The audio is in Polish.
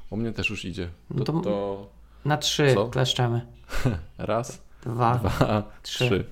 U mnie też już idzie. No to To na 3 co? kleszczemy. raz, 2, dwa, 3. trzy.